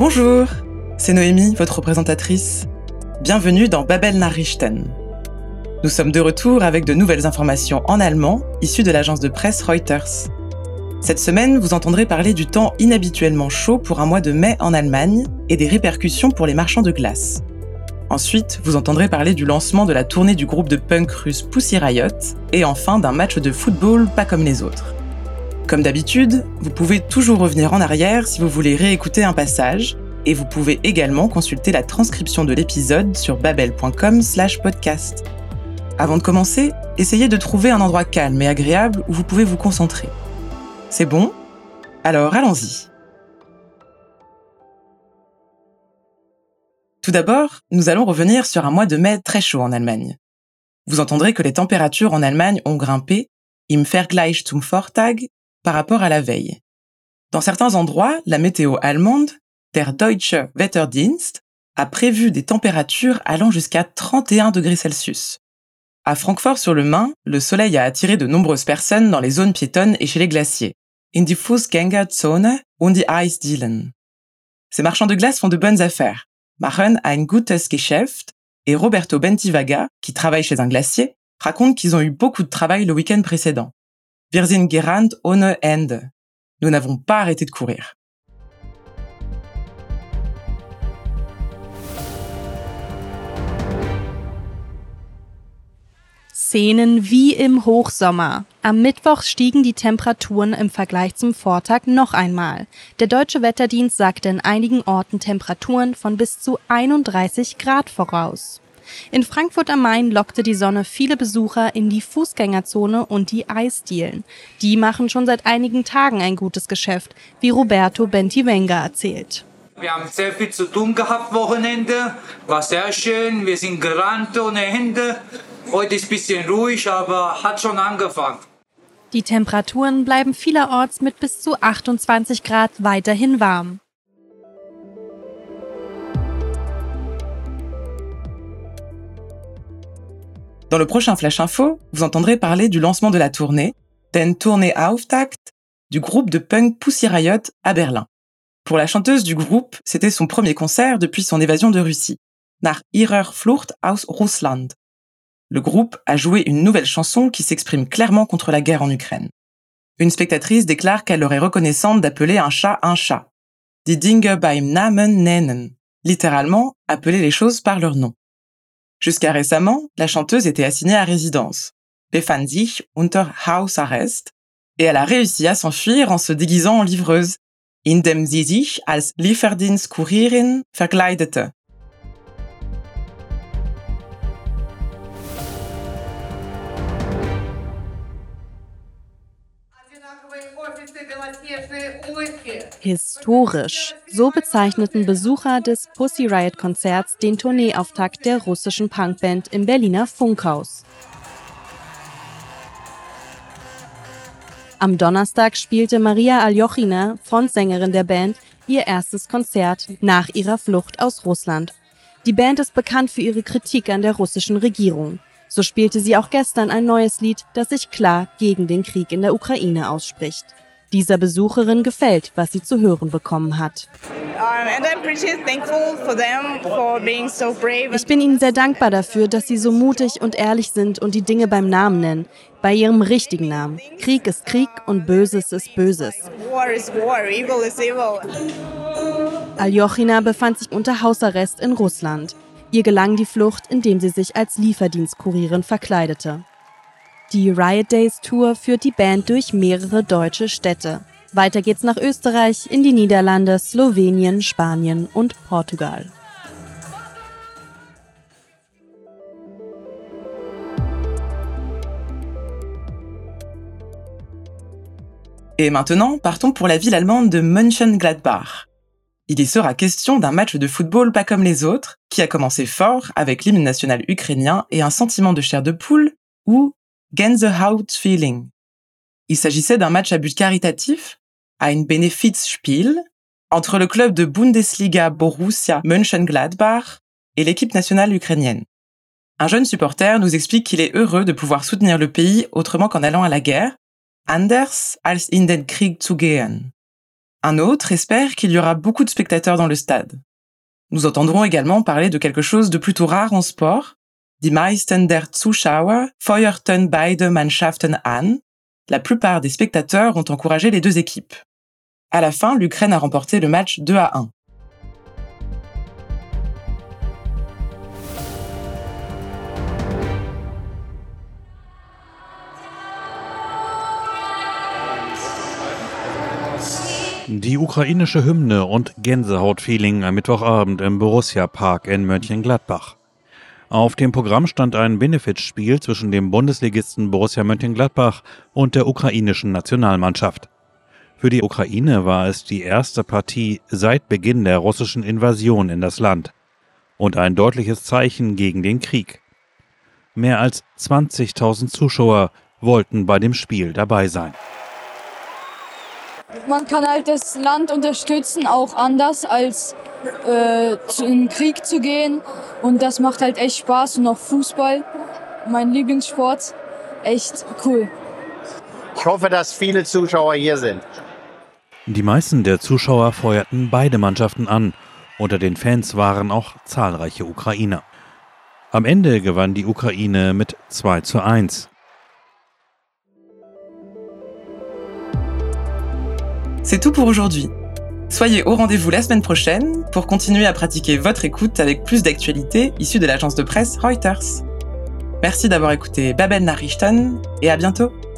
Bonjour, c'est Noémie, votre présentatrice. Bienvenue dans Babel Nachrichten. Nous sommes de retour avec de nouvelles informations en allemand issues de l'agence de presse Reuters. Cette semaine, vous entendrez parler du temps inhabituellement chaud pour un mois de mai en Allemagne et des répercussions pour les marchands de glace. Ensuite, vous entendrez parler du lancement de la tournée du groupe de punk russe Pussy Riot et enfin d'un match de football pas comme les autres. Comme d'habitude, vous pouvez toujours revenir en arrière si vous voulez réécouter un passage et vous pouvez également consulter la transcription de l'épisode sur babel.com/podcast. Avant de commencer, essayez de trouver un endroit calme et agréable où vous pouvez vous concentrer. C'est bon ? Alors allons-y. Tout d'abord, nous allons revenir sur un mois de mai très chaud en Allemagne. Vous entendrez que les températures en Allemagne ont grimpé, im Vergleich zum Vortag, par rapport à la veille. Dans certains endroits, la météo allemande, der Deutsche Wetterdienst, a prévu des températures allant jusqu'à 31 degrés Celsius. À Francfort-sur-le-Main, le soleil a attiré de nombreuses personnes dans les zones piétonnes et chez les glaciers, in die Fußgängerzone und die Eisdielen. Ces marchands de glace font de bonnes affaires, machen ein gutes Geschäft, et Roberto Bentivaga, qui travaille chez un glacier, raconte qu'ils ont eu beaucoup de travail le week-end précédent. Wir sind gerannt ohne Ende. Nous n'avons pas arrêté de courir. Szenen wie im Hochsommer. Am Mittwoch stiegen die Temperaturen im Vergleich zum Vortag noch einmal. Der Deutsche Wetterdienst sagte in einigen Orten Temperaturen von bis zu 31 Grad voraus. In Frankfurt am Main lockte die Sonne viele Besucher in die Fußgängerzone und die Eisdielen. Die machen schon seit einigen Tagen ein gutes Geschäft, wie Roberto Bentivaga erzählt. Wir haben sehr viel zu tun gehabt, Wochenende. War sehr schön, wir sind gerannt ohne Ende. Heute ist ein bisschen ruhig, aber hat schon angefangen. Die Temperaturen bleiben vielerorts mit bis zu 28 Grad weiterhin warm. Dans le prochain Flash Info, vous entendrez parler du lancement de la tournée, den Tourneeauftakt, du groupe de punk Pussy Riot à Berlin. Pour la chanteuse du groupe, c'était son premier concert depuis son évasion de Russie, nach ihrer Flucht aus Russland. Le groupe a joué une nouvelle chanson qui s'exprime clairement contre la guerre en Ukraine. Une spectatrice déclare qu'elle leur est reconnaissante d'appeler un chat, die Dinge beim Namen nennen, littéralement appeler les choses par leur nom. Jusqu'à récemment, la chanteuse était assignée à résidence, befand sich unter Hausarrest, et elle a réussi à s'enfuir en se déguisant en livreuse, indem sie sich als Lieferdienstkurierin verkleidete. Historisch. So bezeichneten Besucher des Pussy Riot Konzerts den Tourneeauftakt der russischen Punkband im Berliner Funkhaus. Am Donnerstag spielte Maria Aljochina, Frontsängerin der Band, ihr erstes Konzert nach ihrer Flucht aus Russland. Die Band ist bekannt für ihre Kritik an der russischen Regierung. So spielte sie auch gestern ein neues Lied, das sich klar gegen den Krieg in der Ukraine ausspricht. Dieser Besucherin gefällt, was sie zu hören bekommen hat. Ich bin ihnen sehr dankbar dafür, dass sie so mutig und ehrlich sind und die Dinge beim Namen nennen, bei ihrem richtigen Namen. Krieg ist Krieg und Böses ist Böses. Aljochina befand sich unter Hausarrest in Russland. Ihr gelang die Flucht, indem sie sich als Lieferdienstkurierin verkleidete. Die Riot Days Tour führt die Band durch mehrere deutsche Städte. Weiter geht's nach Österreich, in die Niederlande, Slowenien, Spanien und Portugal. Et maintenant, partons pour la ville allemande de Mönchengladbach. Il y sera question d'un match de football pas comme les autres, qui a commencé fort avec l'hymne national ukrainien et un sentiment de chair de poule, ou Gänsehaut-Feeling. Il s'agissait d'un match à but caritatif, ein Benefizspiel, entre le club de Bundesliga Borussia Mönchengladbach et l'équipe nationale ukrainienne. Un jeune supporter nous explique qu'il est heureux de pouvoir soutenir le pays autrement qu'en allant à la guerre, anders als in den Krieg zu gehen. Un autre espère qu'il y aura beaucoup de spectateurs dans le stade. Nous entendrons également parler de quelque chose de plutôt rare en sport. Die meisten der Zuschauer feuerten beide Mannschaften an. La plupart des spectateurs ont encouragé les deux équipes. À la fin, l'Ukraine a remporté le match 2-1. Die ukrainische Hymne und Gänsehautfeeling am Mittwochabend im Borussia-Park in Mönchengladbach. Auf dem Programm stand ein Benefizspiel zwischen dem Bundesligisten Borussia Mönchengladbach und der ukrainischen Nationalmannschaft. Für die Ukraine war es die erste Partie seit Beginn der russischen Invasion in das Land und ein deutliches Zeichen gegen den Krieg. Mehr als 20.000 Zuschauer wollten bei dem Spiel dabei sein. Man kann halt das Land unterstützen, auch anders als in den Krieg zu gehen. Und das macht halt echt Spaß. Und auch Fußball, mein Lieblingssport, echt cool. Ich hoffe, dass viele Zuschauer hier sind. Die meisten der Zuschauer feuerten beide Mannschaften an. Unter den Fans waren auch zahlreiche Ukrainer. Am Ende gewann die Ukraine mit 2:1. C'est tout pour aujourd'hui. Soyez au rendez-vous la semaine prochaine pour continuer à pratiquer votre écoute avec plus d'actualités issues de l'agence de presse Reuters. Merci d'avoir écouté Babel Nachrichten et à bientôt.